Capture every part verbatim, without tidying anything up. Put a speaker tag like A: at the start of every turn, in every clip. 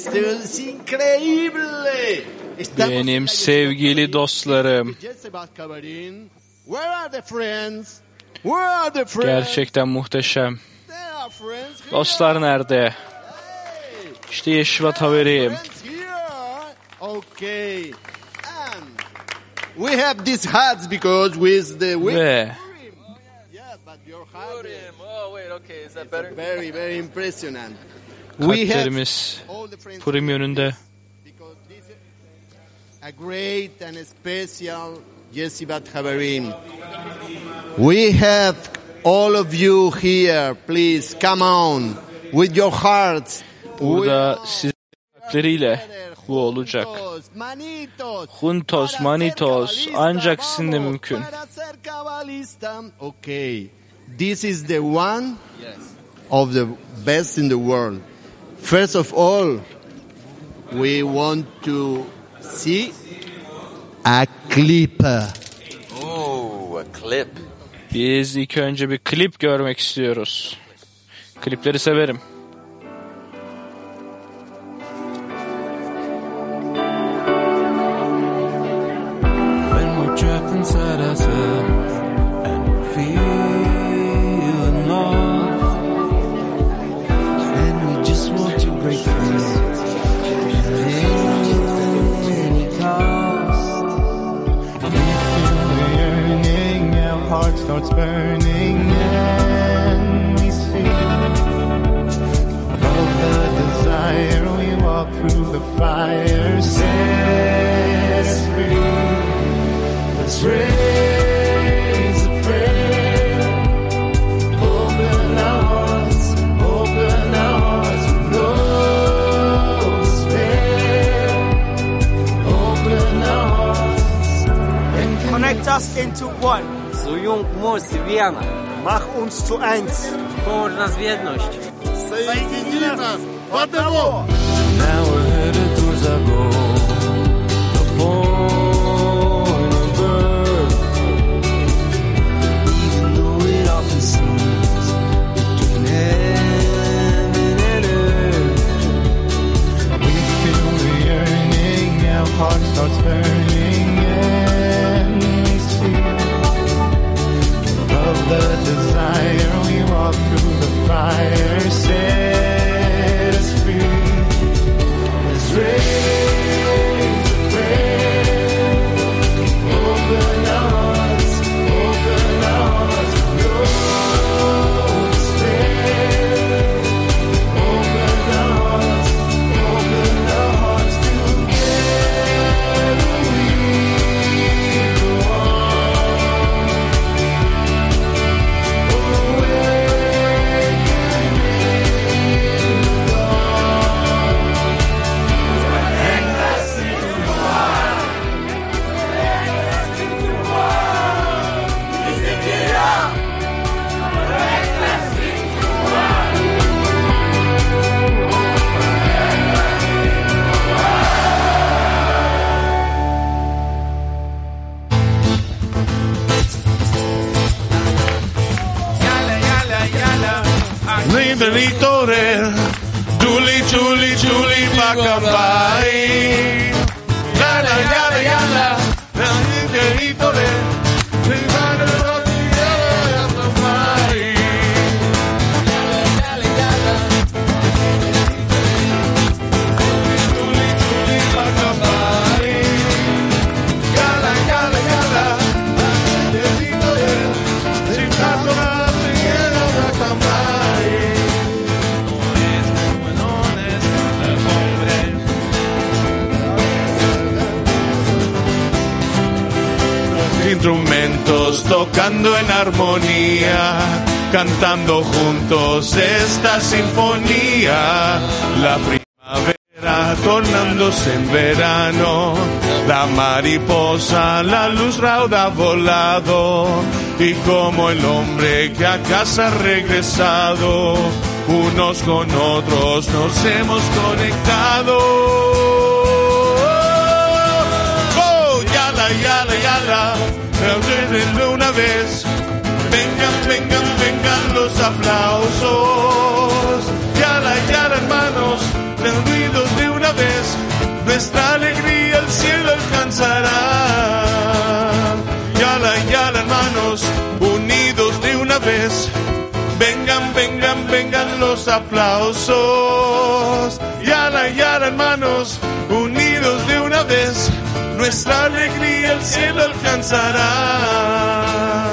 A: esto es increíble.
B: Benim sevgili dostlarım, gerçekten muhteşem. Dostlar nerede? İşte Yeshivat Haverim.
A: We have these hats because with the
B: Ve
A: very very impressionant.
B: kalplerimiz Purim yönünde.
A: A great and special Yeshivat Haverim. We have all of you here. Please come on with your hearts.
B: Burada sizin kalpleriyle bu olacak. Juntos, manitos, ancak sizinle mümkün.
A: Okay, this is the one of the best in the world. First of all, we want to see a clip.
C: Oh, a clip.
B: Biz ilk önce bir klip görmek istiyoruz. Klipleri severim.
D: Trapped inside ourselves and feeling lost, and we just want to break free at any cost. We feel the yearning, our heart starts burning, and we see above the desire. We walk through the fire, set us free. Let's raise a prayer. Open our hearts, open our hearts with no despair. Open our hearts and
E: connect us into one.
F: Soyung moc wiana.
E: Mach uns zu eins.
F: Połącz nas w jedność.
E: Соедини нас в одного.
D: now we're headed towards our goal. The point of birth. Even though it often seems between heaven and earth, we feel the yearning, our heart starts burning, and we see above the desire. We walk through the fire, set us free. Let's raise a prayer. Open our hearts, open our hearts with no despair. Open our hearts, open our hearts together. We go on. Awakening in the dawn.
G: Liberitore, Julie, Julie, Julie, Bacambai. Yala, yala, yala, Liberitore, instrumentos tocando en armonía, cantando juntos esta sinfonía. La primavera tornándose en verano, la mariposa, la luz rauda ha volado, y como el hombre que a casa ha regresado, unos con otros nos hemos conectado. Oh, yala, yala, yala. De una vez, vengan, vengan, vengan los aplausos. Yala, yala, hermanos, reunidos de una nuestra alegría el cielo alcanzará. Yala, yala, hermanos, unidos de una vez. Vengan, vengan, vengan los aplausos. Yala, yala, hermanos, unidos de una vez. Nuestra alegría el cielo alcanzará.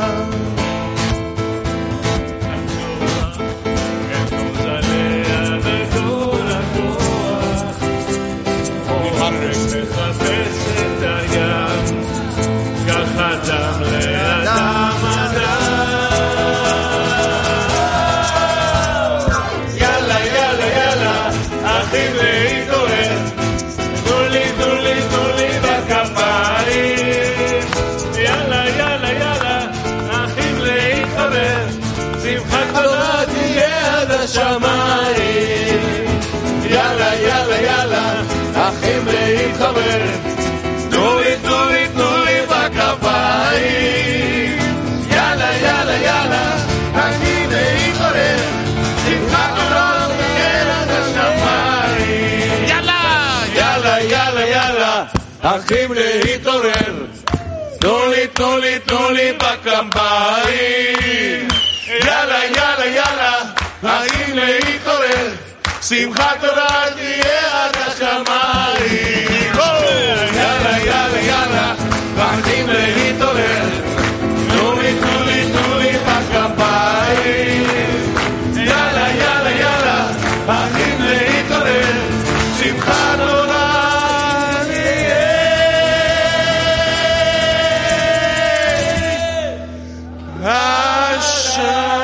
G: יאללה, יאללה, יאללה, אחים להתחבר. תנו לי, תנו לי, תנו לי בכפיים. יאללה, יאללה, יאללה, אחים להתחבר. שמחה גדולה תהיה עד השמיים. יאללה, יאללה, יאללה, יאללה, אחים להתעורר. תנו לי, תנו לי, תנו לי בכפיים. יאללה, יאללה, יאללה, אחים להתעורר. שמחת תורה תהיה עד השמיים. יאללה, יאללה, יאללה, אחים להתעורר. תנו לי, תנו לי, תנו לי בכפיים. יאללה, יאללה, יאללה, אחים להתעורר. שמחת תורה תהיה השמיים.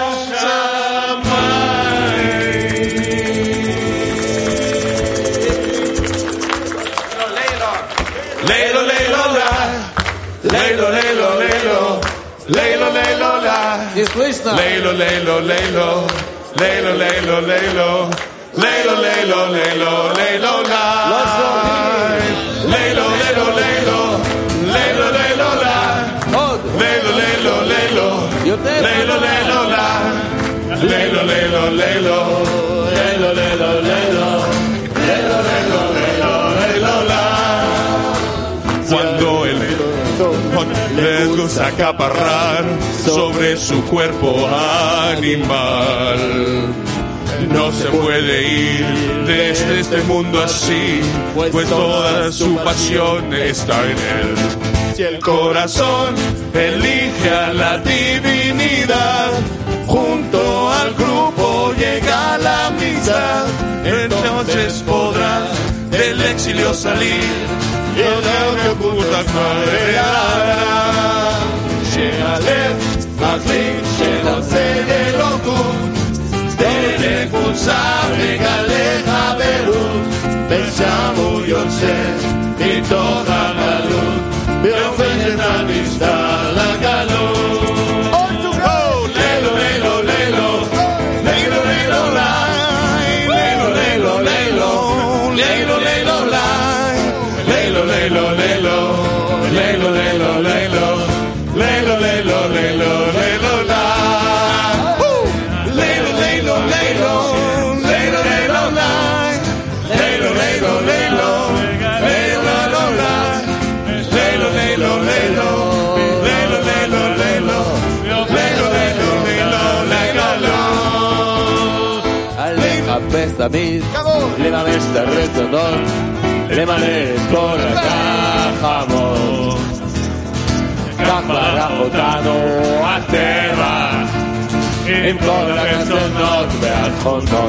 G: Leilo, leilo, la. Leilo, leilo, leilo. Leilo, leilo, la.
F: Не слышно?
G: Leilo, leilo, leilo. Leilo, leilo, leilo. Leilo, leilo, leilo. Leilo, la. Leilo, leilo, leilo. Leilo, leilo, la. Leilo, leilo, leilo. Leilo, leilo, la. Leilo, leilo, leilo. Leilo, leilo, leilo. Leilo, leilo, leilo. Leilo, la. Cuando el les gusta acaparrar sobre su cuerpo animal, no se puede ir desde este mundo así, pues toda su pasión está en él. Si el corazón elige a la divinidad, junto al grupo llega a la misa, entonces podrá del exilio salir. יודעו כפות הכפריה שהלב מחליט שרוצה אלוקות דרך קבוצה מגלה חברות ושם הוא יוצא מתוך הגלות והופך את המשטר לגלות. לילו לילו לילו לילו לילו לילו לילו לילו לילו לילו Leilo, leilo, leilo, leilo, leilo, leilo, leilo, leilo, leilo, leilo, la. Leilo, leilo, leilo, leilo, leilo, la. Leilo, leilo, leilo, leilo, leilo, la. Leilo, leilo, leilo, leilo, leilo, leilo, leilo, leilo, leilo, leilo.
F: לחפש תמיד, לממש את הרצונות, למלא את כל הגחמות. כך ברח אותנו הטבע עם כל הרצונות והתכונות.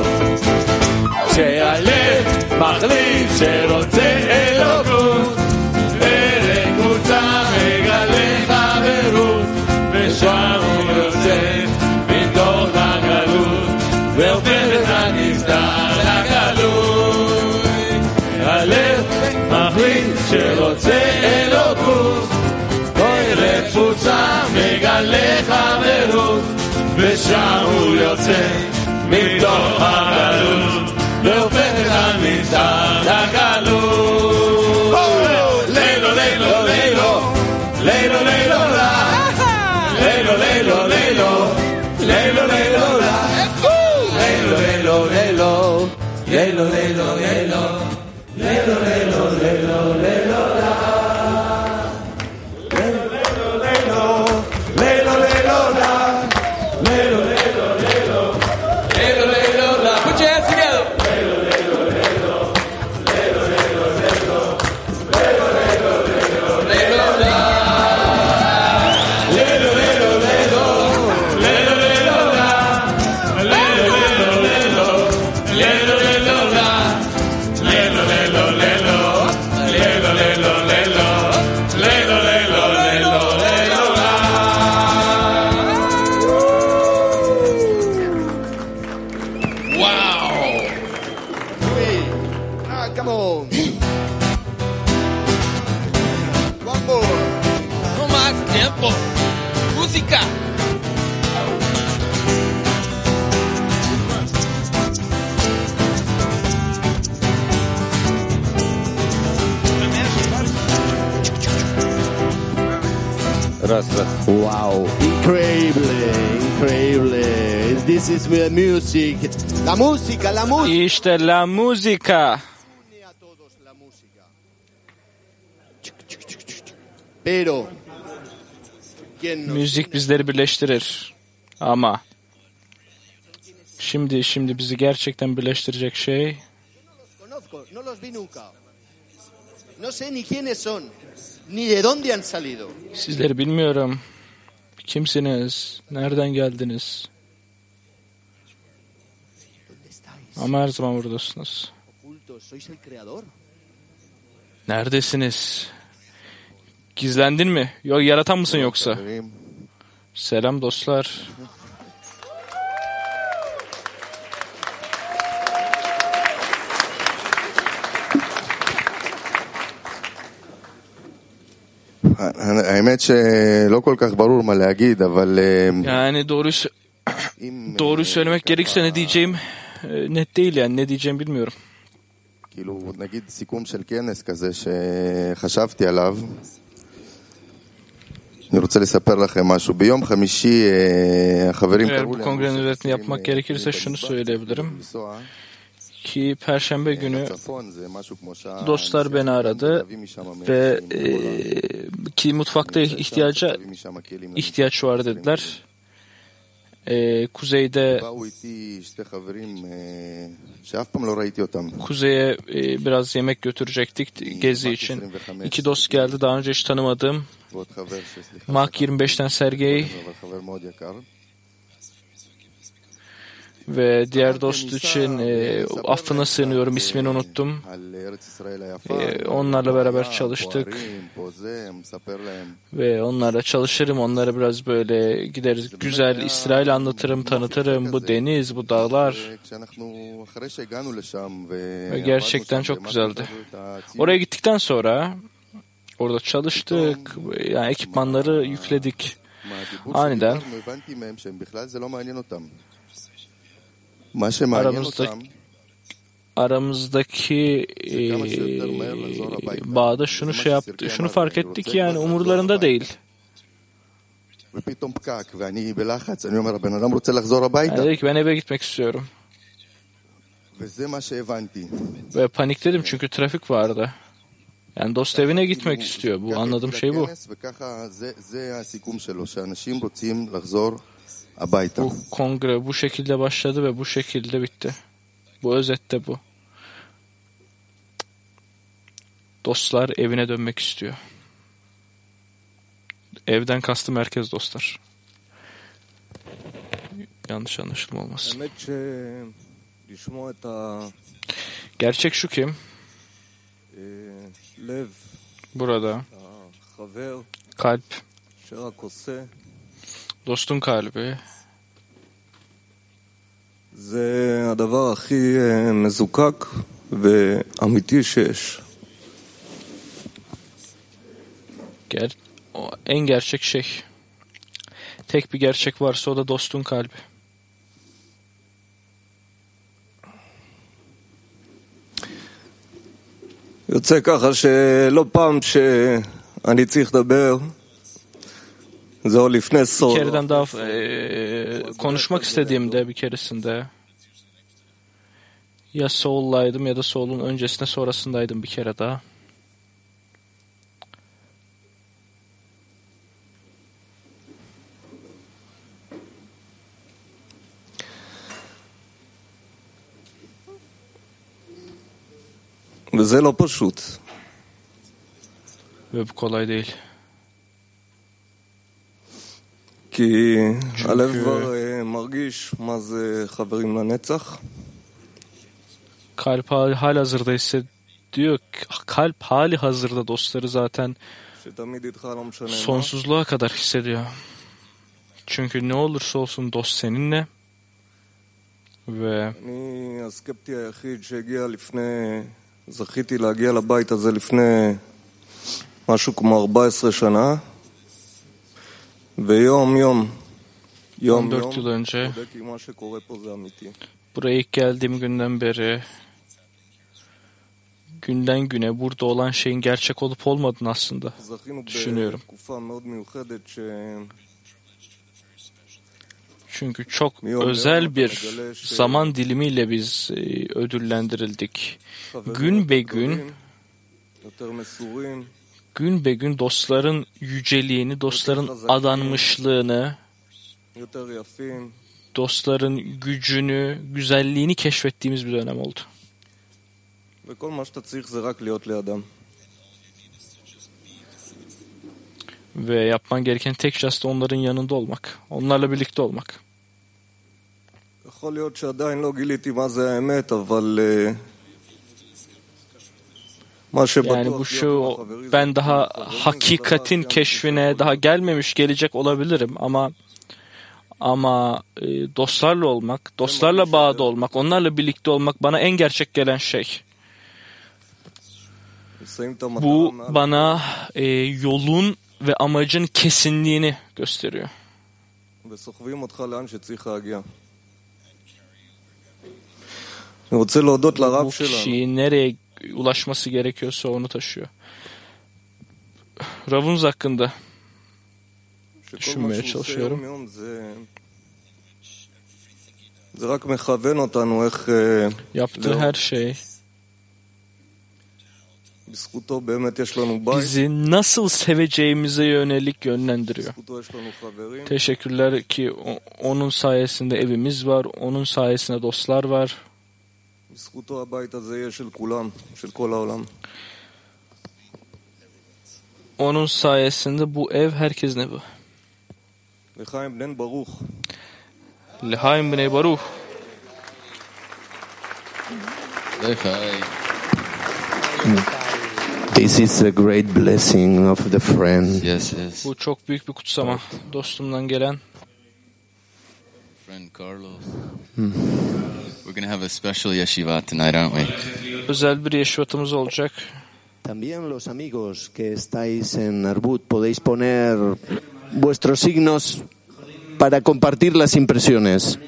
F: שהלב מחליט שרוצה אלוקות ולקבוצה מגלה חברות ושם הוא יוצא מתוך הגלות והופך את הנסתר לגלות. הלב מחליט שרוצה אלוקות אוי לקבוצה מגלה חברות ושם הוא יוצא מתוך הגלות והופך את הנסתר לגלות. לילו לילו לילו לילו לילו לילו לילו לילו לילו לילו לילו לילו לילו לילו לילו לילו לילו לילו
B: música.
A: Wow, increíble, increíble. This is the music. La música, la música.
B: İşte la música.
A: Pero ¿quién nos
B: Müzik bizleri birleştirir. Ama şimdi şimdi bizi gerçekten birleştirecek şey
A: conozco? No los vi nunca. No sé ni quiénes son, ni de dónde han salido.
B: sizleri bilmiyorum. Kimsiniz? Nereden geldiniz? Ama her zaman buradasınız.
A: Ocultos, ¿sois el creador?
B: Neredesiniz? Gizlendin mi? Yok, yaratan mısın yoksa? Selam dostlar.
H: האמת שלא כל כך ברור מה להגיד, אבל
B: Yani doğru doğru söylemek gerekirse ne diyeceğim net değil, yani ne diyeceğim bilmiyorum.
H: כאילו נגיד סיכום של כנס כזה שחשבתי עליו. אני רוצה לספר לכם משהו. ביום חמישי החברים
B: Eğer
H: קראו
B: bu
H: לי,
B: kongrenin özetini yapmak gerekirse şunu söyleyebilirim. Ki Perşembe günü dostlar beni aradı ve e, ki mutfakta ihtiyaca ihtiyaç var dediler. E, kuzeyde kuzeye e, biraz yemek götürecektik gezi için. İki dost geldi, daha önce hiç tanımadığım Mak yirmi beşten Sergey ve diğer dost için e, affına sığınıyorum, ismini unuttum. E, onlarla beraber çalıştık ve onlarla çalışırım. Onlara biraz böyle gideriz, güzel İsrail anlatırım, tanıtırım. Bu deniz, bu dağlar. Ve gerçekten çok güzeldi. Oraya gittikten sonra orada çalıştık. Yani ekipmanları yükledik. Aniden aramızdaki, aramızdaki e, bağda şunu şey yaptı, şunu fark ettik ki yani umurlarında değil. Yani dedi ki ben eve gitmek istiyorum. Ve panikledim çünkü trafik vardı. Yani dost evine gitmek istiyor. Bu anladığım şey bu. Bu kongre bu şekilde başladı ve bu şekilde bitti. Bu özette bu. Dostlar evine dönmek istiyor. Evden kastım merkez dostlar. Yanlış anlaşılma olmasın. Gerçek şu ki burada kalp, dostun kalbi
I: זה הדבר הכי מזוקק ואמיתי שיש.
B: Ger o en gerçek şey. Tek bir gerçek varsa o da dostun kalbi.
I: יוצא ככה שלא פעם שאני צריך לדבר זה או לפני סול.
B: Bir kereden daha e, konuşmak istediğimde bir keresinde ya Soul'laydım ya da Soul'un öncesinde sonrasındaydım bir kere daha.
I: וזה לא פשוט.
B: Ve bu kolay değil.
I: כי הלב כבר מרגיש מה זה חברים לנצח.
B: Kalp hali hazırda hissediyor. Kalp hali hazırda dostları zaten sonsuzluğa kadar hissediyor. Çünkü ne olursa olsun dost seninle ve
I: אני הסקפטי היחיד שהגיע לפני, זכיתי להגיע לבית הזה לפני משהו כמו ארבע עשרה שנה. ויום יום, יום
B: on dört
I: יום,
B: yıl önce
I: בודק אם מה שקורה פה זה אמיתי.
B: buraya ilk geldiğim günden beri günden güne burada olan şeyin gerçek olup olmadığını aslında
I: זכינו
B: düşünüyorum.
I: בתקופה מאוד מיוחדת ש...
B: Çünkü çok özel bir zaman dilimiyle biz e, ödüllendirildik. Gün be gün, gün be gün dostların yüceliğini, dostların adanmışlığını, dostların gücünü, güzelliğini keşfettiğimiz bir dönem oldu.
I: וכל מה שאתה צריך זה רק להיות לידם.
B: Ve yapman gereken tek şey aslında onların yanında olmak, onlarla birlikte olmak.
I: יכול להיות שעדיין לא גיליתי מה זה האמת, אבל מה
B: Yani bu
I: שבטוח
B: şu ben daha hakikatin keşfine daha gelmemiş, gelecek olabilirim ama ama e, dostlarla olmak, dostlarla bağda olmak, onlarla birlikte olmak bana en gerçek gelen şey. Bu bana e, yolun ve amacın kesinliğini gösteriyor.
I: וסוחבים אותך לאן שצריך להגיע. אני רוצה להודות לרב
B: Bu
I: שלנו.
B: kişiyi nereye ulaşması gerekiyorsa onu taşıyor. Ravunuz hakkında düşünmeye çalışıyorum.
I: זה רק מכוון אותנו איך
B: Yaptığı her şey
I: בזכותו באמת יש לנו בית.
B: bizi nasıl seveceğimize yönelik yönlendiriyor.
I: בזכותו יש לנו חברים.
B: Teşekkürler ki o- onun sayesinde evimiz var, onun sayesinde dostlar var.
I: בזכותו הבית הזה יהיה של כולם, של כל העולם.
B: Onun sayesinde bu ev herkesin evi.
I: לחיים בן ברוך.
B: L'chaim b'nei baruch.
A: This is a great blessing of the friend.
C: Yes, yes.
B: Bu çok büyük bir kutsama. Dostumdan gelen.
C: Friend Carlos. We're going to have a special yeshiva tonight, aren't we?
B: Özel bir yeşivatımız olacak.
A: También los amigos que estáis en Arbut podéis poner vuestros signos para compartir las impresiones.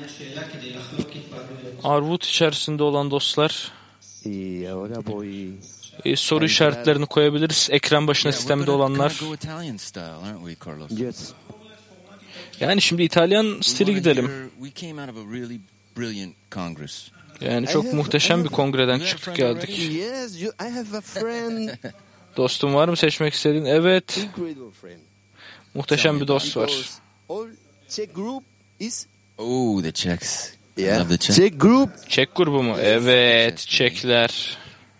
B: Arvut içerisinde olan dostlar
A: Y ahora voy
B: e, soru işaretlerini koyabiliriz. Ekran başına
C: Yeah, we're
B: sistemde
C: gonna-
B: olanlar.
C: gonna go Italian style, aren't we, Carlos?
A: yes.
B: Yani şimdi İtalyan
C: We
B: stili
C: wanna
B: gidelim.
C: hear- We came out of a really brilliant congress.
B: Yani çok muhteşem bir kongreden çıktık geldik.
A: Yes, you, I have a friend,
B: Dostum var mı seçmek istediğin? Evet.
A: incredible friend.
B: Muhteşem bir dost var.
A: Because all Czech group is
C: Oh, the Czechs. I
A: yeah.
C: love the Czechs.
A: Czech group
B: Çek grubu mu? Evet. Çekler.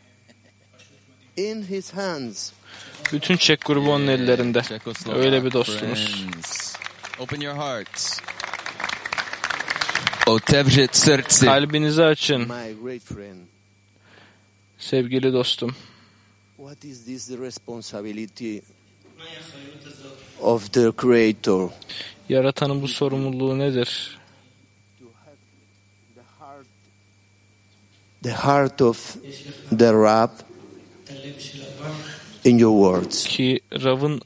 A: in his hands.
B: Bütün Çek grubu onun ellerinde.
C: Czechoslovak
B: Öyle bir dostumuz.
C: friends. Open your hearts. Otevřít srdce.
B: Kalbinizi açın.
A: My great friend.
B: Sevgili dostum.
A: What is this the responsibility of the Creator?
B: Yaratanın bu sorumluluğu nedir?
A: The heart of the Rab in your words.
B: Ki Rav'ın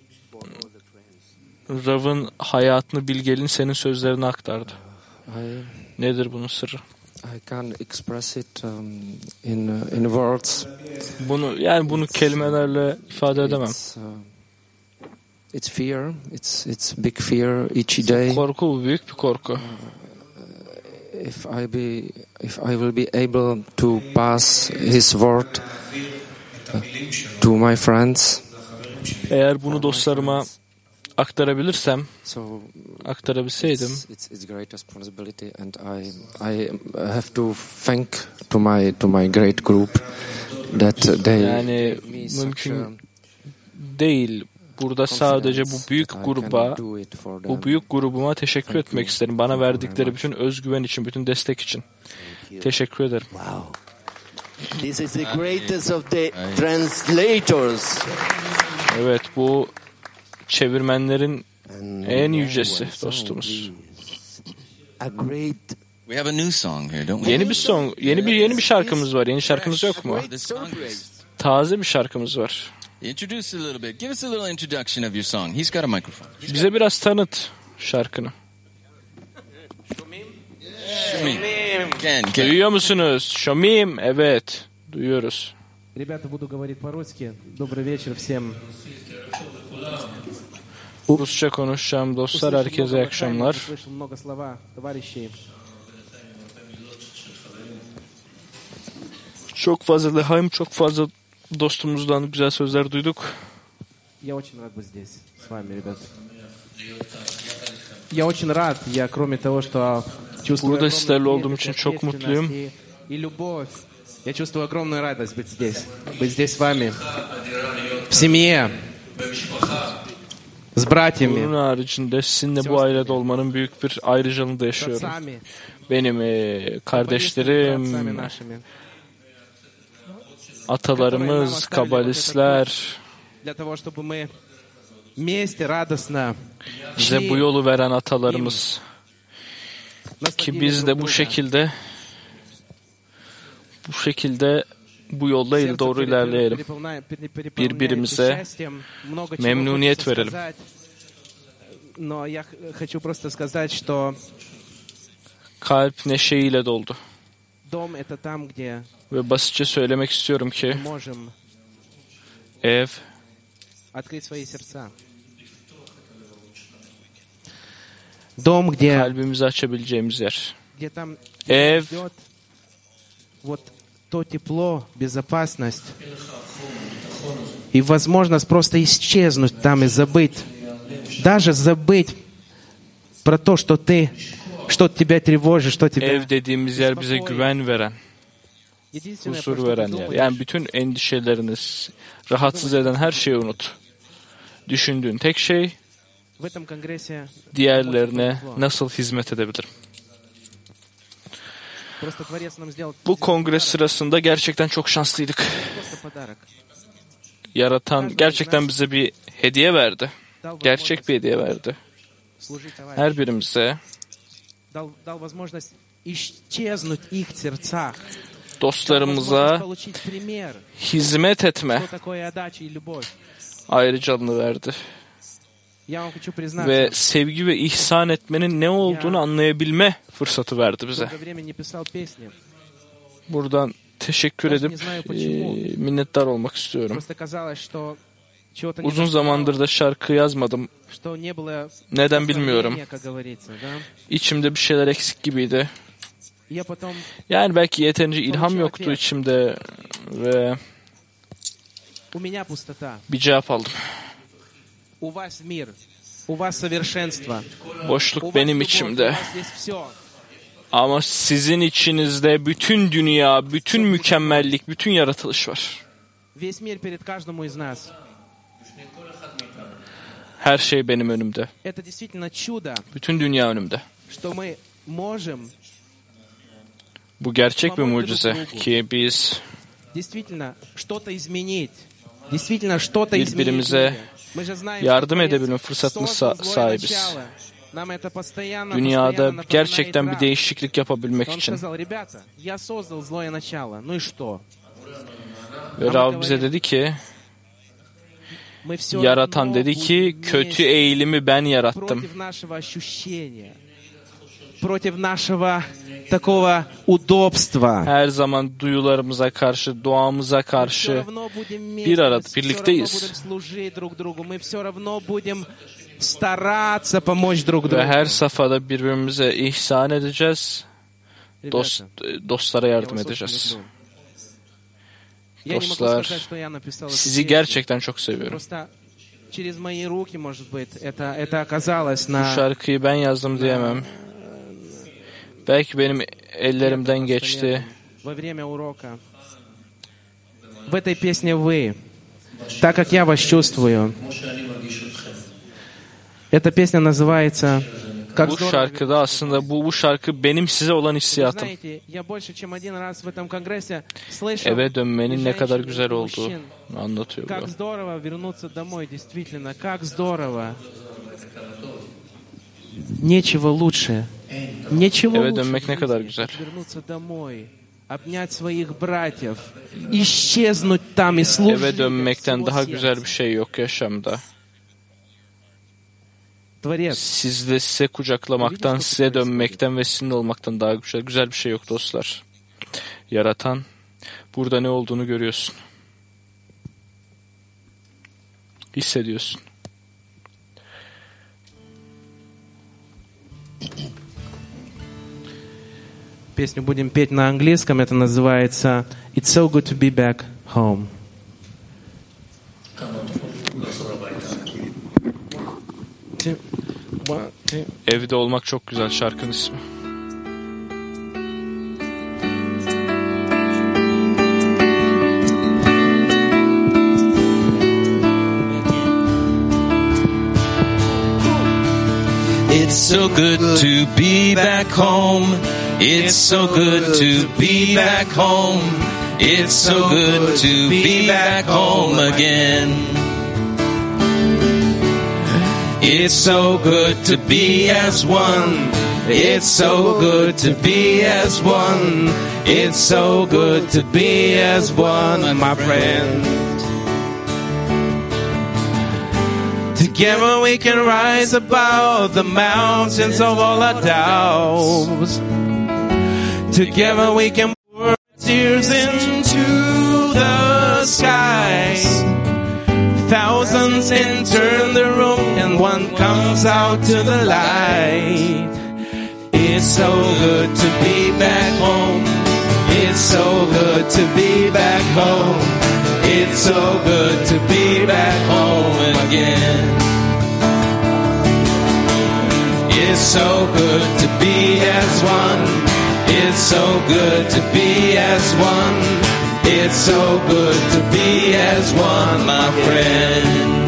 B: Rav'ın hayatını bilgelin senin sözlerine aktardı.
J: I
B: Nedir bunun sırrı?
J: I can express it um, in uh, in words.
B: Bunu yani bunu kelimelerle ifade edemem.
J: It's, uh, it's fear. It's it's big fear each day.
B: Korku bu büyük bir korku.
J: If I be if I will be able to pass His word uh, to my friends.
B: Eğer bunu dostlarıma aktarabilirsem,
J: So
B: aktarabilseydim,
J: it's, it's it's great responsibility, and I I have to thank to my to my great group that they
B: yani
J: me such
B: mümkün
J: a
B: değil. Burada sadece bu büyük
J: confidence that I
B: gruba,
J: can do it for them.
B: bu büyük grubuma teşekkür etmek isterim. Bana verdikleri bütün özgüven için, bütün destek için. Teşekkür ederim.
A: Wow. This is the greatest of the translators.
B: Evet, bu çevirmenlerin
A: And
B: en
A: now
B: yücesi
A: one song,
B: dostumuz.
A: please. A great
C: We have a new song here, don't we?
B: Yeni bir song, yeni bir yeni bir şarkımız var. Yeni şarkımız yok mu?
C: This congress.
B: Taze bir şarkımız var.
C: Introduce a little bit. Give us a little introduction of your song. He's got a microphone.
B: Bize biraz tanıt şarkını.
C: Ken, Ken.
B: Duyuyor musunuz? Şomim. Evet. Duyuyoruz.
K: Ребята, буду говорить по-русски. Добрый вечер всем.
B: Rusça konuşacağım dostlar. Herkese iyi akşamlar.
K: Слышал много слова товарищей.
B: Çok fazla Lehaim, çok fazla dostumuzdan güzel sözler duyduk.
K: Я очень рад быть здесь с вами, ребят. Я очень рад. Я, кроме того, что чувствую
B: Burada sizlerle olduğum
K: огромную
B: için çok
K: ответственность
B: mutluyum.
K: и, и любовь. Я чувствую огромную радость быть здесь. Быть здесь с вами. В семье. С братьями.
B: Bunun haricinde sizinle bu ailede olmanın büyük bir ayrıcalığını da yaşıyorum.
K: Отцами.
B: Benim e, kardeşlerim,
K: Отцами нашими.
B: atalarımız, kabalistler,
K: Для того, чтобы мы вместе радостно
B: bize bu yolu veren atalarımız ki biz de bu şekilde bu şekilde bu yolda il doğru ilerleyelim. Birbirimize memnuniyet verelim.
K: Но я хочу просто сказать, что
B: Kalp neşeyle doldu.
K: дом это там, где
B: Ve basitçe söylemek istiyorum ki
K: мы можем
B: ev
K: открыть свои сердца. Дом, где
B: kalbimizi açabileceğimiz yer.
K: где там
B: Ev
K: идет вот то тепло, безопасность и возможность просто исчезнуть там и забыть, даже забыть про то, что ты, что тебя тревожит, что тебя.
B: ev dediğimiz yer bize güven veren,
K: Единственное,
B: huzur
K: про что ты
B: veren yer.
K: думаешь,
B: Yani bütün endişeleriniz, rahatsız eden her şeyi unut. Düşündüğün tek şey
K: в этом конгрессе
B: diğerlerine nasıl hizmet edebilirim?
K: просто Творец нам сделал
B: Bu kongre sırasında gerçekten çok şanslıydık.
K: просто подарок.
B: Yaratan gerçekten bize bir hediye verdi. Gerçek bir hediye verdi.
K: Служить товарищу.
B: Her birimize
K: Дал, дал возможность исчезнуть их в сердцах.
B: dostlarımıza
K: Получить пример,
B: hizmet etme
K: что такое отдача и любовь.
B: ayrıcalığını verdi.
K: Я вам хочу признаться,
B: Ve sevgi ve ihsan etmenin ne olduğunu anlayabilme fırsatı verdi bize.
K: долгое время не писал песни.
B: Buradan teşekkür edip e, minnettar olmak istiyorum.
K: Просто казалось, что чего-то не
B: Uzun
K: доставало,
B: zamandır da şarkı yazmadım.
K: что не было
B: Neden bilmiyorum.
K: вдохновения, как говорится, да?
B: İçimde bir şeyler eksik gibiydi.
K: Я потом
B: Yani belki yeterince ilham yoktu içimde ve
K: у меня пустота,
B: bir cevap aldım.
K: у вас мир, у вас совершенство, у
B: Boşluk
K: вас
B: benim
K: любовь, у
B: içimde.
K: вас есть все.
B: Ama sizin içinizde bütün dünya, bütün mükemmellik, bütün yaratılış var.
K: Весь мир перед каждому из нас.
B: Her şey benim önümde.
K: Это действительно чудо,
B: Bütün dünya önümde.
K: что мы можем
B: Bu gerçek bir mucize ki biz
K: действительно что-то изменить. Действительно что-то изменить.
B: birbirimize
K: Мы же знаем,
B: yardım
K: что
B: edebilme
K: Творец
B: fırsatına
K: создал
B: sa-
K: злое
B: sahibiz.
K: начало. Нам это постоянно,
B: Dünyada
K: постоянно
B: gerçekten
K: напоминает
B: bir
K: Раб.
B: değişiklik yapabilmek
K: Он
B: için.
K: сказал, ребята, я создал злое начало, ну и что?
B: Ve Rab bize dedi ki,
K: Мы все
B: yaratan dedi ki, kötü eğilimi ben yarattım.
K: против нашего ощущения, против нашего такого удобства.
B: Her zaman duyularımıza karşı, doğamıza
K: Мы все
B: karşı
K: равно будем
B: bir
K: вместе,
B: arada,
K: мы все равно
B: birlikteyiz.
K: будем служить друг другу, мы все равно будем стараться помочь друг
B: Ve
K: другу.
B: her safhada birbirimize ihsan edeceğiz. Dost,
K: Ребята,
B: dostlara
K: я
B: yardım
K: вас очень
B: edeceğiz.
K: люблю. Я не могу
B: Dostlar,
K: сказать, что я написал эту
B: sizi
K: песню.
B: gerçekten çok seviyorum.
K: Просто через мои руки, может быть, это, это оказалось
B: Bu
K: на
B: şarkıyı ben yazdım diyemem. Belki benim ellerimden geçti.
K: во время урока. В этой песне вы, так как я вас чувствую. Эта песня называется «Как
B: Bu
K: здорово».
B: şarkıda aslında bu bu şarkı benim size olan
K: Вы
B: hissiyatım.
K: знаете, я больше чем один раз в этом конгрессе слышал
B: Eve dönmenin ne kadar
K: женщин,
B: güzel
K: и
B: olduğunu
K: мужчин.
B: anlatıyor
K: Как
B: bu.
K: здорово вернуться домой, действительно, как здорово. Нечего лучше. Ничего
B: Eve
K: лучше
B: dönmek ne kadar
K: в жизни,
B: güzel.
K: как вернуться домой. обнять своих братьев, исчезнуть там и служить.
B: Eve dönmekten daha güzel bir şey yok yaşamda. Sizle size kucaklamaktan, size dönmekten ve sizinle olmaktan daha güzel, güzel bir şey yok dostlar. Yaratan, burada ne olduğunu görüyorsun. Hissediyorsun.
K: Песню будем петь на английском, это называется «It's so good to be back home».
B: Evde olmak çok güzel şarkının ismi.
L: It's so good to be back home. It's so good to be back home. It's so good to be back home again. It's so good to be as one. It's so good to be as one. It's so good to be as one, my friend. Together we can rise above the mountains of all our doubts. Together we can pour tears into the skies. Thousands enter the room and one comes out to the light. It's so good to be back home. It's so good to be back home. It's so good to be back home again. It's so good to be as one. It's so good to be as one. It's so good to be as one, my friend.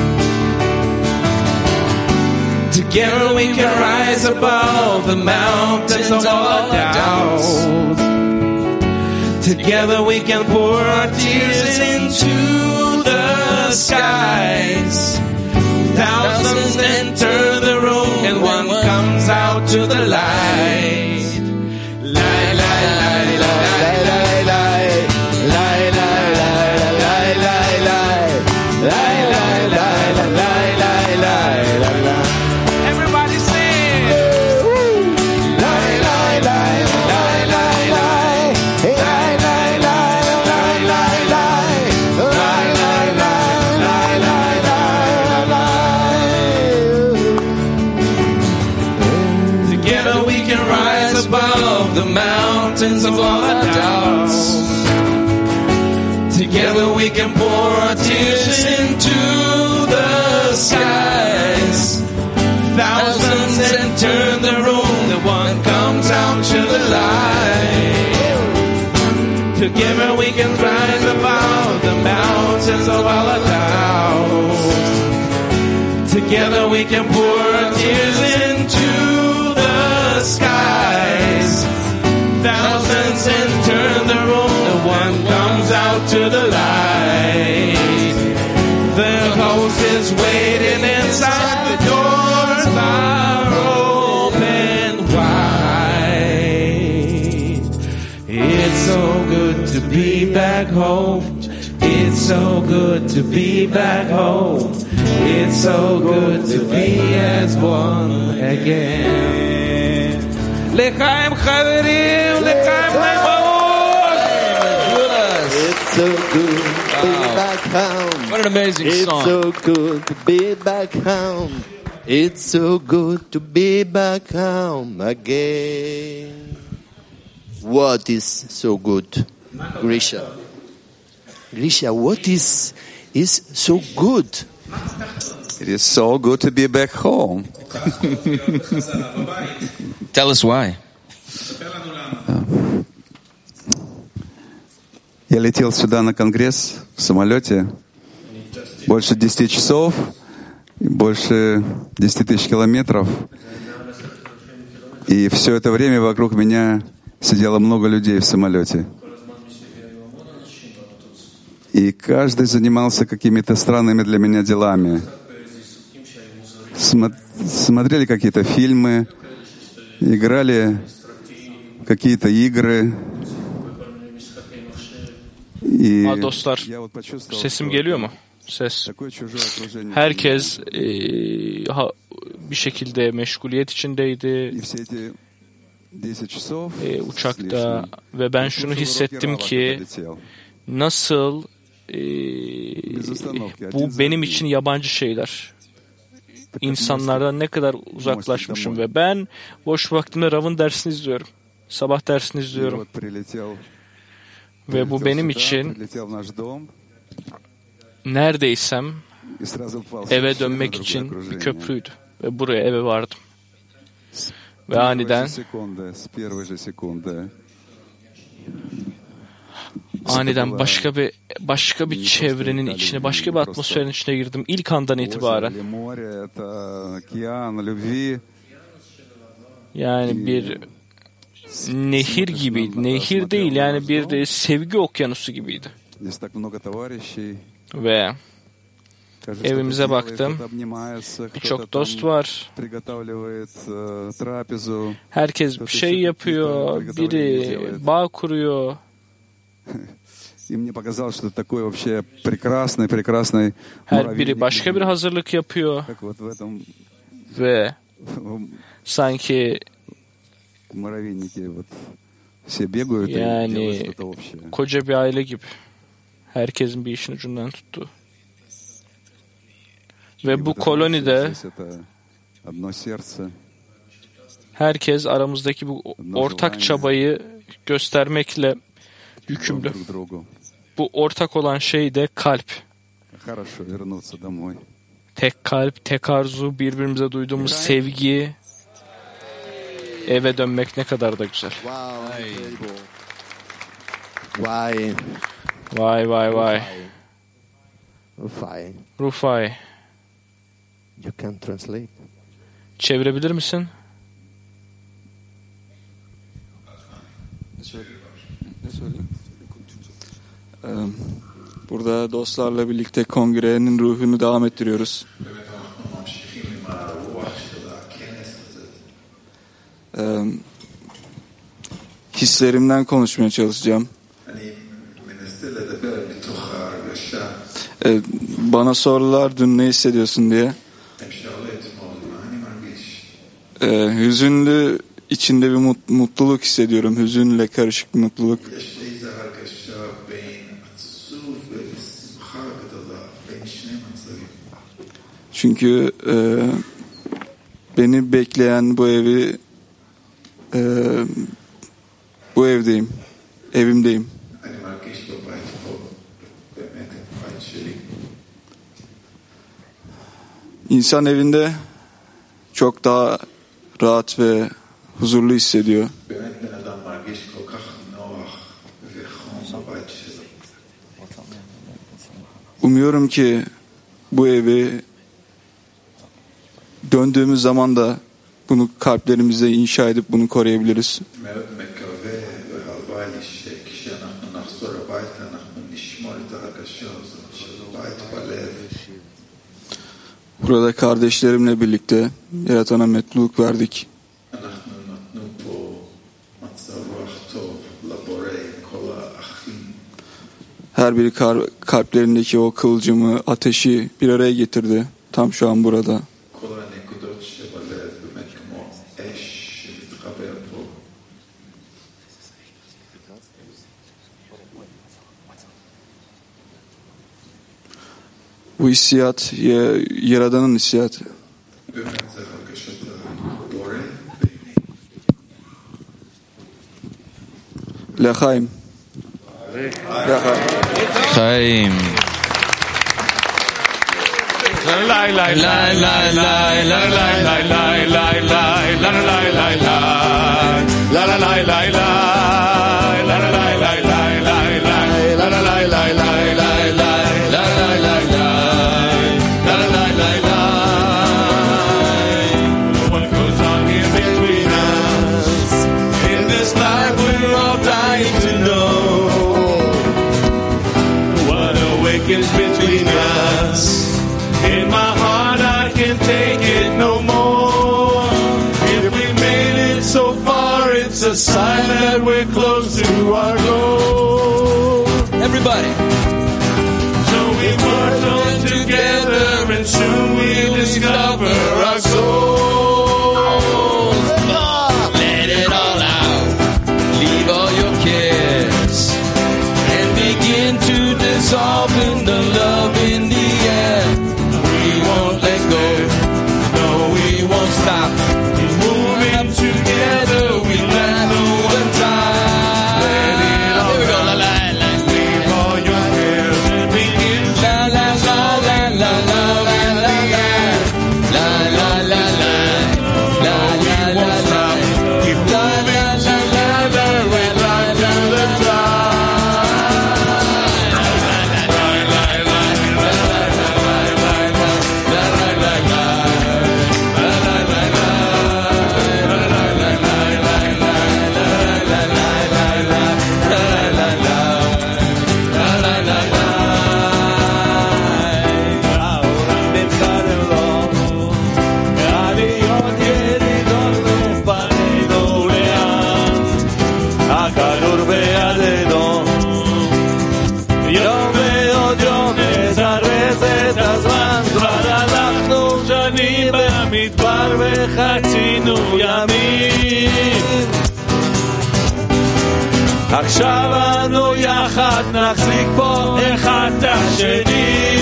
L: Together we can rise above the mountains of all our doubts. Together we can pour our tears into the skies. Thousands enter the room and one comes out to the light. Light, light, light, light, light, light. Light, light, light, light, light, light. Light, light, light, light, light, light, light, light. Everybody sing. Light, light, light, light, light, light. Light, light, light, light, light, light. Light, light, light, light, light, light, light. Together we can rise above the mountains of all our doubts. Together we can pour our tears into the skies. Thousands enter the room, the one comes out to the light. Together we can rise above the mountains of all our doubts. Together we can pour our tears into the skies. Thousands enter the room, the one comes out to the light. The host is waiting inside, the doors are open wide. It's so good to be back home. It's so good to be back home. It's so good to be as one again. L'chaim chaverim, l'chaim chaimot.
A: It's so good to be back home.
L: What an amazing
A: it's
L: song.
A: It's so good to be back home. It's so good to be back home again. What is so good, Grisha? Grisha, what is is so good?
M: It is so good to be back home.
L: Tell us why.
M: Я летел сюда на конгресс в самолете больше десяти часов, больше десяти тысяч километров. И все это время вокруг меня сидело много людей в самолете. И каждый занимался какими-то странными для меня делами. Смотрели какие-то фильмы, играли какие-то игры,
B: Ha, dostlar, sesim geliyor mu? Ses. Herkes e, ha, bir şekilde meşguliyet içindeydi e, uçakta ve ben şunu hissettim ki nasıl e, bu benim için yabancı şeyler. İnsanlardan ne kadar uzaklaşmışım ve ben boş vaktimde Rav'ın dersini izliyorum. Sabah dersini izliyorum. Ve bu benim için neredeysem eve dönmek için bir köprüydü. Ve buraya eve vardım. Ve aniden aniden başka bir başka bir çevrenin içine, başka bir atmosferin içine girdim. İlk andan itibaren. Yani bir nehir gibiydi. Nehir değil, yani bir sevgi okyanusu gibiydi. Ve evimize baktım. Birçok dost var. Herkes bir şey yapıyor. Biri bağ kuruyor. Her biri başka bir hazırlık yapıyor. Ve sanki yani koca bir aile gibi. Herkesin bir işin ucundan tuttu. Ve bu kolonide herkes aramızdaki bu ortak çabayı göstermekle yükümlü. Bu ortak olan şey de kalp. Tek kalp, tek arzu, birbirimize duyduğumuz sevgi. Eve dönmek ne kadar da güzel.
A: Vay.
B: Vay vay vay.
A: Rufai.
B: Rufai.
A: You can translate.
B: Çevirebilir misin?
M: Burada dostlarla birlikte kongrenin ruhunu devam ettiriyoruz. Hislerimden konuşmaya çalışacağım. Bana sordular dün ne hissediyorsun diye. Hüzünlü, içinde bir mutluluk hissediyorum. Hüzünle karışık bir mutluluk. Çünkü e, beni bekleyen bu evi e, bu evdeyim. Evimdeyim. İnsan evinde çok daha rahat ve huzurlu hissediyor. Umuyorum ki bu evi döndüğümüz zaman da bunu kalplerimizde inşa edip bunu koruyabiliriz. Burada kardeşlerimle birlikte Yaratan'a mutluluk verdik. Her biri kalplerindeki o kıvılcımı, ateşi bir araya getirdi. Tam şu an burada. Bu hissiyat Yaradan'ın hissiyatı. L'chaim.
C: Chaim.
F: Lay lay lay lay lay lay lay lay lay lay lay lay lay lay lay la la lay lay lay la la lay lay lay lay lay la la lay lay lay lay lay la la lay lay lay la la lay lay lay. What goes on here between us in this life we're all dying to know what awakens between us. In my heart I can take it no more. If we made it so far, it's a sign that we're close to our goal.
L: Everybody. במדבר וחצינו ימים. עכשיו אנו יחד נחזיק פה אחד את השני.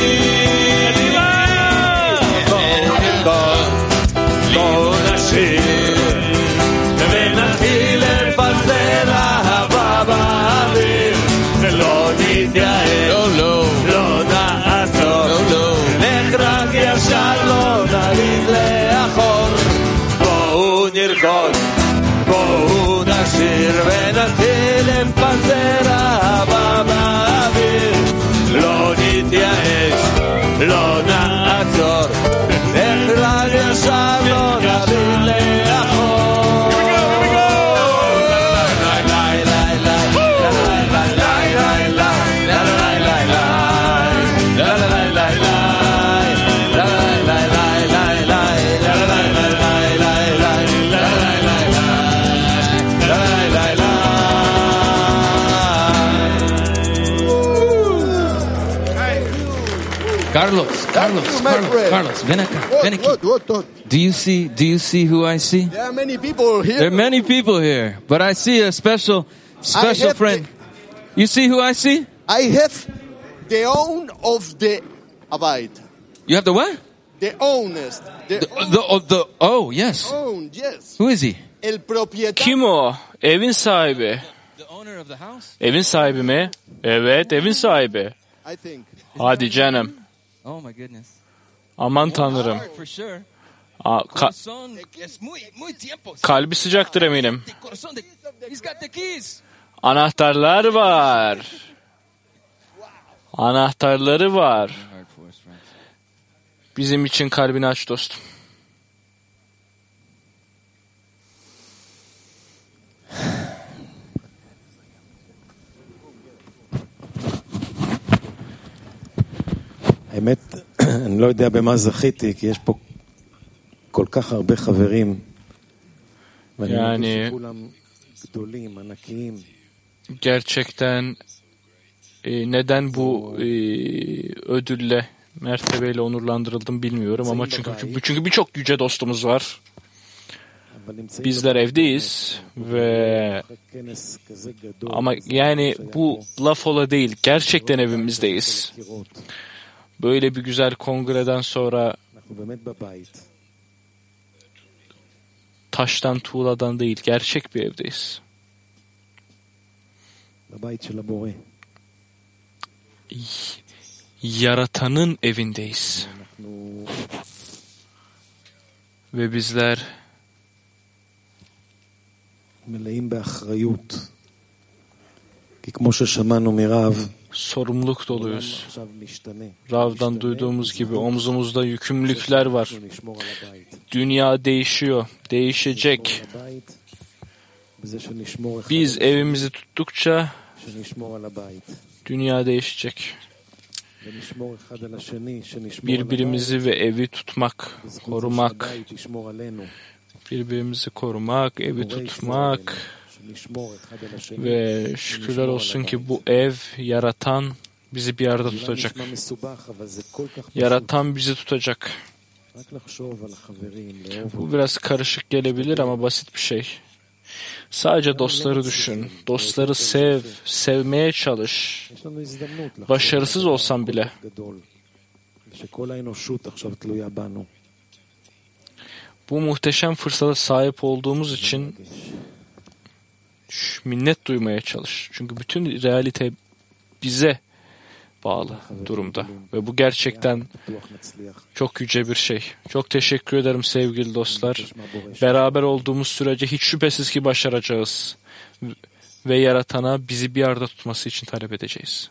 L: בואו נרקוד, בואו נשיר ונתחיל לפזר אהבה באוויר ולא נתייאש, לא, לא, לא נעצור, לא, לא. לך רק ישר, לא נריד לאחור. בואו נרקוד, בואו נשיר ונתחיל לפזר אהבה באוויר לא נתייאש, לא נעצור. לך רק ישר, לא נריד לאחור.
J: Carlos, Carlos, Carlos, Carlos, ven acá, ven aquí.
A: What, what, what?
J: Do you see, do you see who I see?
A: There are many people here.
J: There are many people here, but I see a special, special friend. You see who I see?
A: I have the own of the Abide.
J: You have the what?
A: The ownest. The,
J: The, the, oh, the, oh, yes.
A: own, yes.
J: Who is he?
A: El propietario.
B: Kim o? Evin sahibi.
J: The owner of the house?
B: Evin sahibi mi? Evet, evin sahibi.
A: I think.
B: Hadi canım.
J: Oh my goodness.
B: Aman tanrım.
J: For sure.
B: Aa, ka-
J: Corazón es muy, muy tiempo.
B: kalbi sıcaktır eminim.
J: Corazón de, he's got the keys.
B: Anahtarlar var. Anahtarları var. Bizim için kalbini aç dostum.
N: האמת, אני לא יודע במה זכיתי, כי יש פה כל כך הרבה חברים. ואני מרגיש שכולם גדולים, ענקיים.
B: Gerçekten e, neden bu e, ödülle, mertebeyle onurlandırıldım bilmiyorum ama çünkü çünkü birçok yüce dostumuz var. Bizler evdeyiz ve ama yani bu laf ola değil, gerçekten evimizdeyiz. Böyle bir güzel kongreden sonra taştan, tuğladan değil, gerçek bir evdeyiz. Yaratanın evindeyiz. Ve bizler sorumluluk doluyuz. Rav'dan duyduğumuz gibi omzumuzda yükümlülükler var. Dünya değişiyor, değişecek. Biz evimizi tuttukça dünya değişecek. Birbirimizi ve evi tutmak, korumak, birbirimizi korumak, evi tutmak ve şükürler olsun ki bu ev, yaratan bizi bir arada tutacak. Yaratan bizi tutacak. Bu biraz karışık gelebilir ama basit bir şey. Sadece dostları düşün. Dostları sev, sevmeye çalış. Başarısız olsan bile. Bu muhteşem fırsata sahip olduğumuz için minnet duymaya çalış. Çünkü bütün realite bize bağlı durumda. Ve bu gerçekten çok yüce bir şey. Çok teşekkür ederim sevgili dostlar. Beraber olduğumuz sürece hiç şüphesiz ki başaracağız. Ve Yaratan'a bizi bir arada tutması için talep edeceğiz.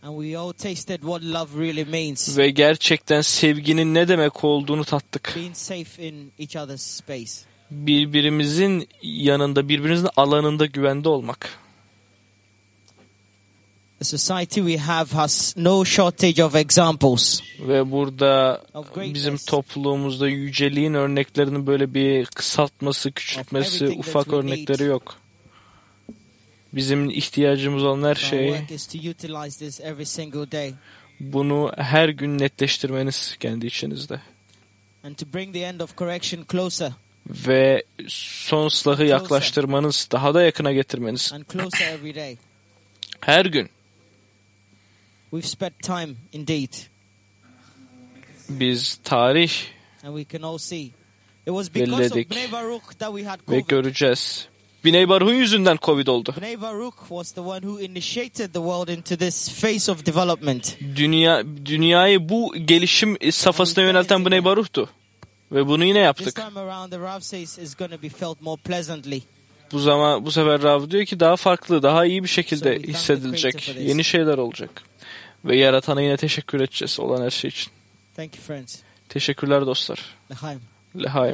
O: And we all tasted what love really means.
B: Ve gerçekten sevginin ne demek olduğunu tattık.
O: Being safe in each other's space.
B: Birbirimizin yanında, birbirimizin alanında güvende olmak.
O: The society we have has no shortage of examples.
B: Ve burada bizim topluluğumuzda yüceliğin örneklerinin böyle bir kısaltması, küçültmesi, ufak örnekleri yok. Bizim ihtiyacımız olan her şey bunu her gün netleştirmeniz kendi içinizde. Ve son ıslahı yaklaştırmanız, daha da yakına getirmeniz. Her gün.
O: We've spent time indeed.
B: Biz tarih belirledik ve göreceğiz. Biney Baruch'un yüzünden Covid oldu.
O: Biney Baruch was the one who initiated the world into this phase of development.
B: Dünya dünyayı bu gelişim safhasına yönelten Biney Baruch'tu. Ve bunu yine yaptık.
O: This time around the Rav says is going to be felt more pleasantly.
B: Bu zaman bu sefer Rav diyor ki daha farklı, daha iyi bir şekilde hissedilecek, yeni şeyler olacak. Ve Yaratan'a yine teşekkür edeceğiz olan her şey için.
O: Thank you, friends.
B: Teşekkürler dostlar.
O: L'chaim.
B: L'chaim.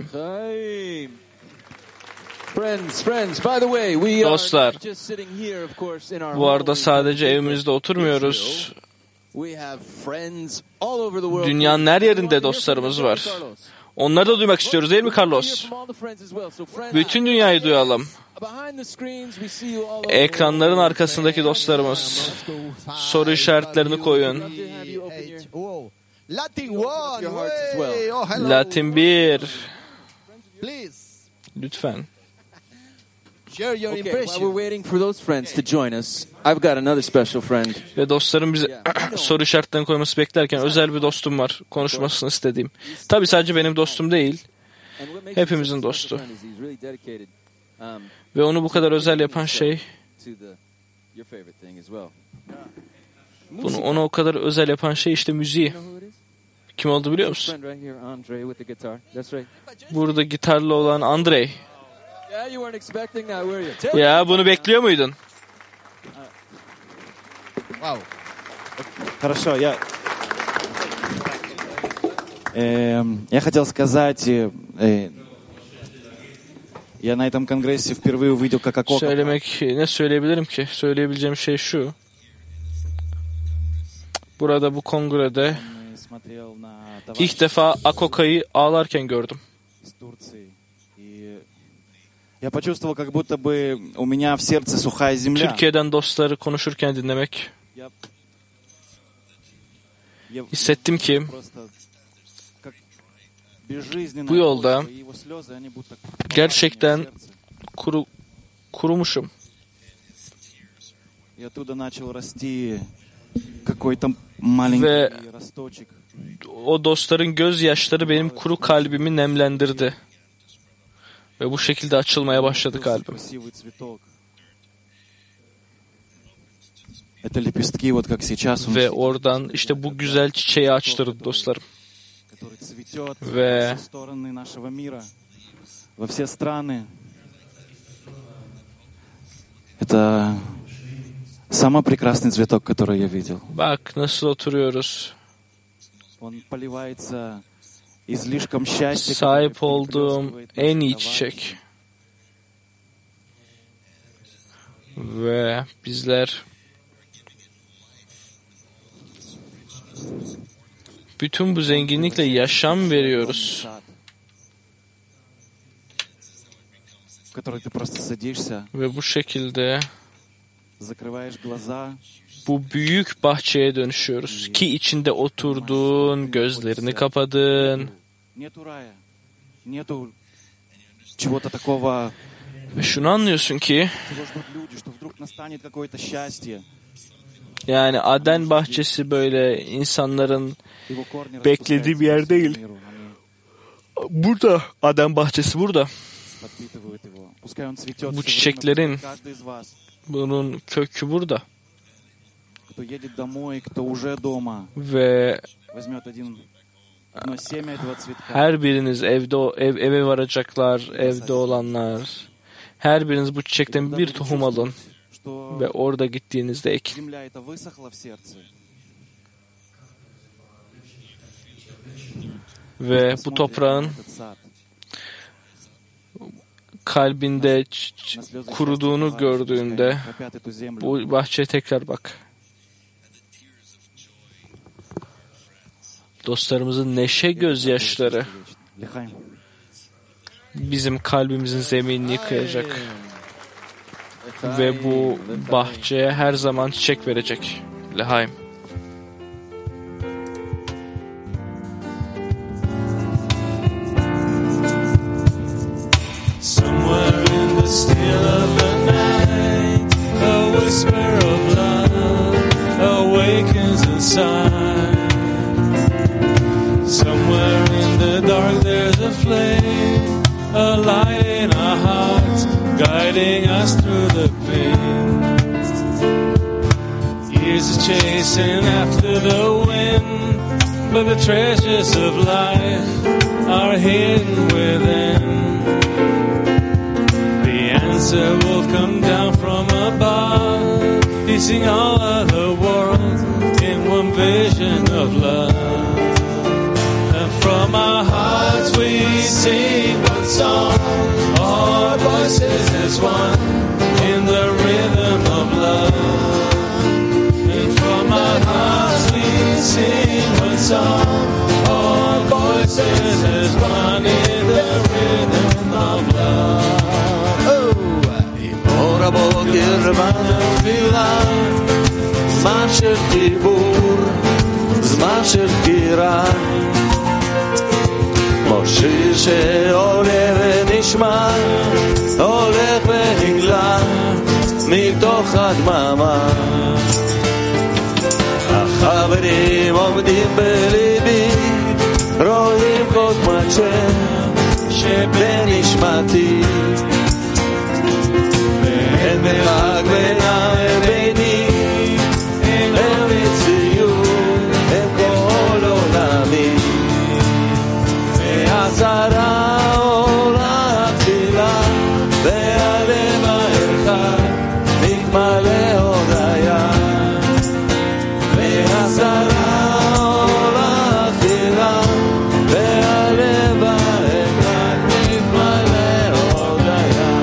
P: Friends, friends, by the way, we
B: Dostlar,
P: are just sitting here, of course, in our
B: bu arada
P: home
B: sadece
P: in
B: evimizde oturmuyoruz.
P: We have friends all over the world.
B: Dünyanın her yerinde dostlarımız var. Onları da duymak istiyoruz değil mi Carlos? Bütün dünyayı duyalım. Ekranların arkasındaki dostlarımız, soru işaretlerini koyun. Latin bir. Lütfen.
P: Okay, while we're waiting for those friends to join us, I've got another special friend.
B: Ve dostlarım bize soru işaretlerini koyması beklerken özel bir dostum var, konuşmasını istediğim. Tabii sadece benim dostum değil, hepimizin dostu. Ve onu bu kadar özel yapan şey, bunu ona o kadar özel yapan şey işte müziği. Kim oldu biliyor musun? Burada gitarlı olan Andrei. Ya bunu bekliyor muydun?
Q: Wow. Хорошо, я э, я хотел сказать, э, я на этом конгрессе впервые увидел, как Акока.
B: Söylemek ne söyleyebilirim ki? Söyleyebileceğim şey şu. Burada bu kongrede ilk defa Akoka'yı ağlarken gördüm.
Q: Я почувствовал, как будто бы у меня в сердце сухая земля.
B: Türkiye'den dostları konuşurken dinlemek. Hissettim ki bu yolda gerçekten kuru, kurumuşum. Ve o dostların gözyaşları benim kuru kalbimi nemlendirdi. Ve bu şekilde açılmaya başladı kalbim. Ve oradan işte bu güzel çiçeği açtırdı dostlarım. Ve
Q: это самый прекрасный цветок, который я видел.
B: Bak nasıl oturuyoruz.
Q: Он поливается излишком счастья.
B: Sahip olduğum en iyi çiçek. Ve bizler bütün bu zenginlikle yaşam veriyoruz. Ve bu şekilde bu büyük bahçeye dönüşüyoruz. Ki içinde oturdun, gözlerini kapadın. Ve şunu anlıyorsun ki yani Aden bahçesi böyle insanların beklediği bir yer değil. Burada Aden bahçesi burada. Bu çiçeklerin bunun kökü burada. Ve her biriniz evde ev, eve varacaklar, evde olanlar. Her biriniz bu çiçekten bir tohum alın ve orada gittiğinizde ekin. ve bu toprağın kalbinde ç- ç- kuruduğunu gördüğünde bu bahçeye tekrar bak. Dostlarımızın neşe gözyaşları bizim kalbimizin zeminini yıkayacak ve bu bahçeye her zaman çiçek verecek. Lehaim.
L: Somewhere in the still of the night, a whisper of love awakens inside. Somewhere in the dark there's a flame, a light in our hearts, guiding us through the pain. Years are chasing after the wind, but the treasures of life are hidden within. Answer will come down from above, piecing all of the world in one vision of love. And from our hearts we sing one song, our voices as one in the rhythm of love. And from our hearts we sing one song, our voices as one in the rhythm of love.
G: אור הבוקר בנפילה, זמן של חיבור, זמן של דקירה, כמו שיר שעולה ונשמע, הולך ונגלה מתוך הדממה. החברים עומדים בליבי, רואים כל תמונת שם שבנשמתי, אין מרחק בינם וביני, הם מציאות, הם כל עולמי. והשרה עולה תפילה, והלב האחד מתמלא הודיה. והשרה עולה תפילה, והלב האחד מתמלא הודיה.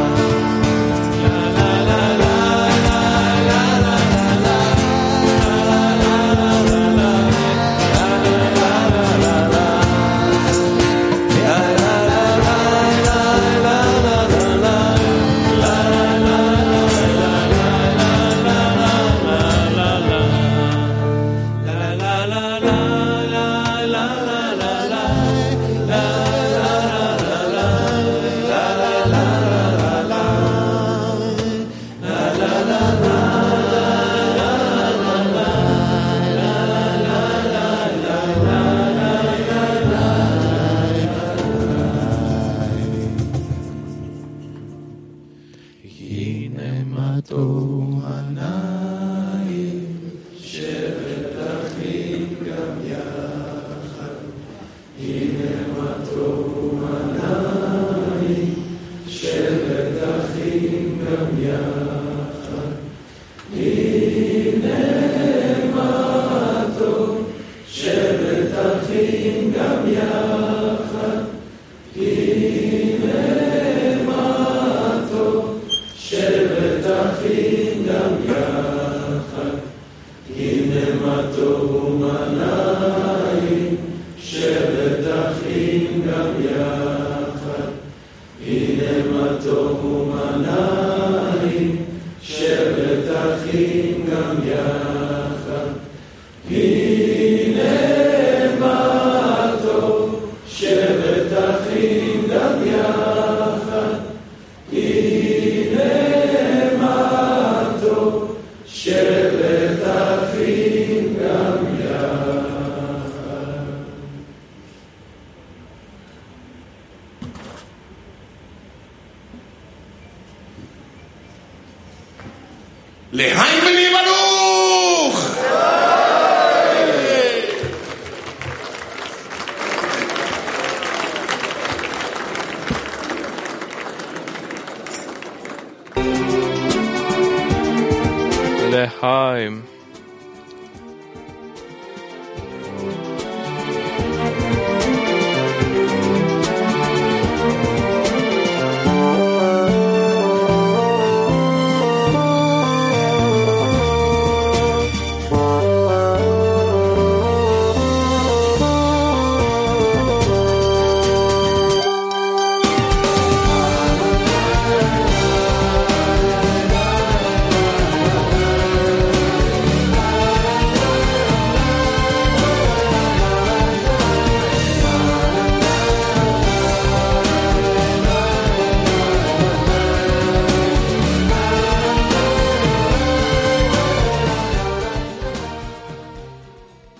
F: לחיים בני ברוך!
B: Lehaim.